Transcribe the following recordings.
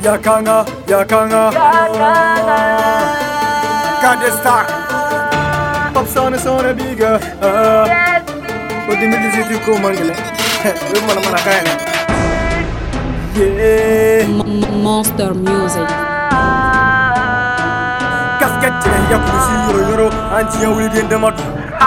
Yakanga Kade Star Pop son bigger What the middle is you go mangle Mana kaya Yeah Monster Music Casquette ya pusi yoro anti ya wuli den demot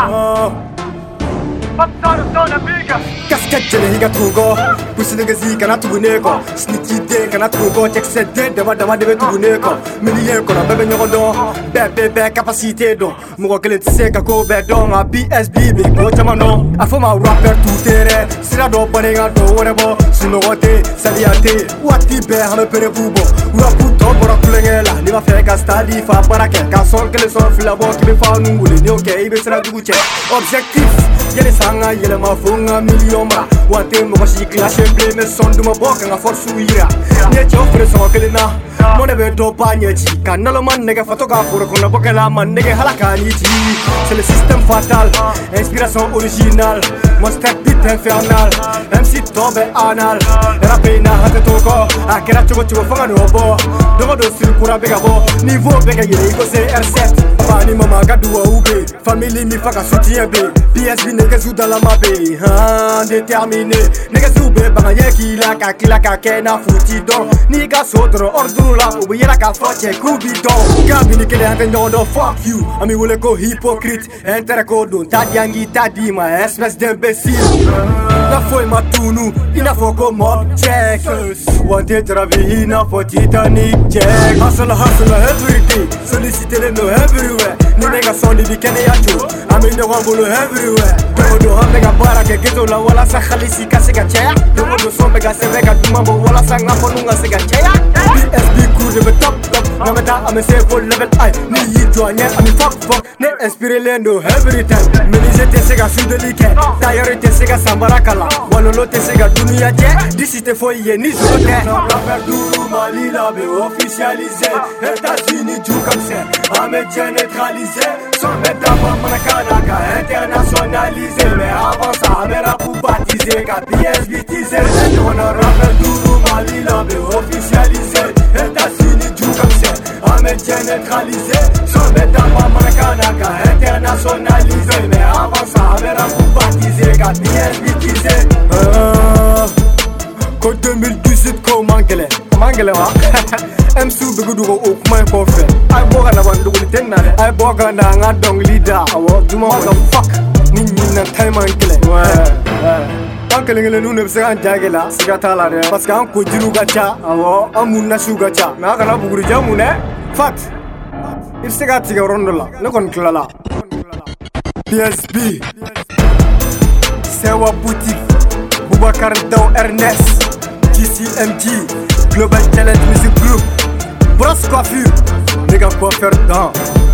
Pop son bigger Casquette higa tugo pusi nega zika tuguneko sniki de kana tugo check set de dama de tuguneko millier ko na bebe nyodo bebe capacité do mo ko se ka ko be do ma BSB be ko chamano afoma rapper tout terrain sira do panenga do wonebo sinogote saliate wati be hame pere bubo rapu to bora kulengela ni ma fe ka stadi fa barake ka son que le son fila bo ki be fa nungule ni okay ibe sira duguche objectif yele sanga yele ma funga million ma wate mo ko si clash play me son duma boka nga force uira ne chofre so que le na mo ne be do banyechi kanalo man nega fotoga pour ko na boka la man nega halakani ti c'est le système fatal inspiration originale mon step beat infernal MC tombe anal rapina hate toko akera chugo fanga no bo dogo do sil kura bega bo niveau bega yele ko c'est R7 pani mama gadua ube family mi faka soutien be PSB nega zu dans la mabe déterminé nega zu be banga yeki la ka kena futi don ni ga sodro ordru la ube yela ka foche kubito gabi ni kele ante ndondo fuck you ami wole ko hypocrite entere ko don tadiangi tadima espèce d'imbécile na foi matunu ina foko mob check wanted travi ina for Titanic check hustle every day solliciter les no everywhere ni nega soni di kene yacho ami no wambolo everywhere do hamega bara ke geto la wala sa khalisi kasega cheya do sombe ga sevega dumambo wala sa ngafo nunga sega cheya BSB crew de top na meta ame se for level I ni yitwanya ami fuck ne inspire lendo every time meni jete sega sudelike tayari te sega sambarakala walolo te sega dunia je d'ici te foye ni zote rapper duru Mali la be officialisé États-Unis du comme c'est Américain neutralisé son bêta manakana internationalisé mais avant ça amera pour baptiser ka BSB teaser on a rapper duru Mali la be officialisé États-Unis du comme c'est Américain neutralisé son bêta manakana internationalisé mais avant ça amera pour baptiser ka BSB teaser ko 2018 ko mangele wa MC begudu ko okuma ko fe ay boga na bandu ko tenna ay boga na nga dong leader awo duma ko fuck ni na time mangele ankele ngele nu ne se an jagela siga tala de parce que an ko jiru gacha awo amun na su gacha na kana buguri jamu ne fat il se gati ga rondola ne kon klala PSB Sewa boutique Boubacar Daw Ernest TCMG Global Talent Music Group Brosse Coiffure Les gars coiffeurs dedans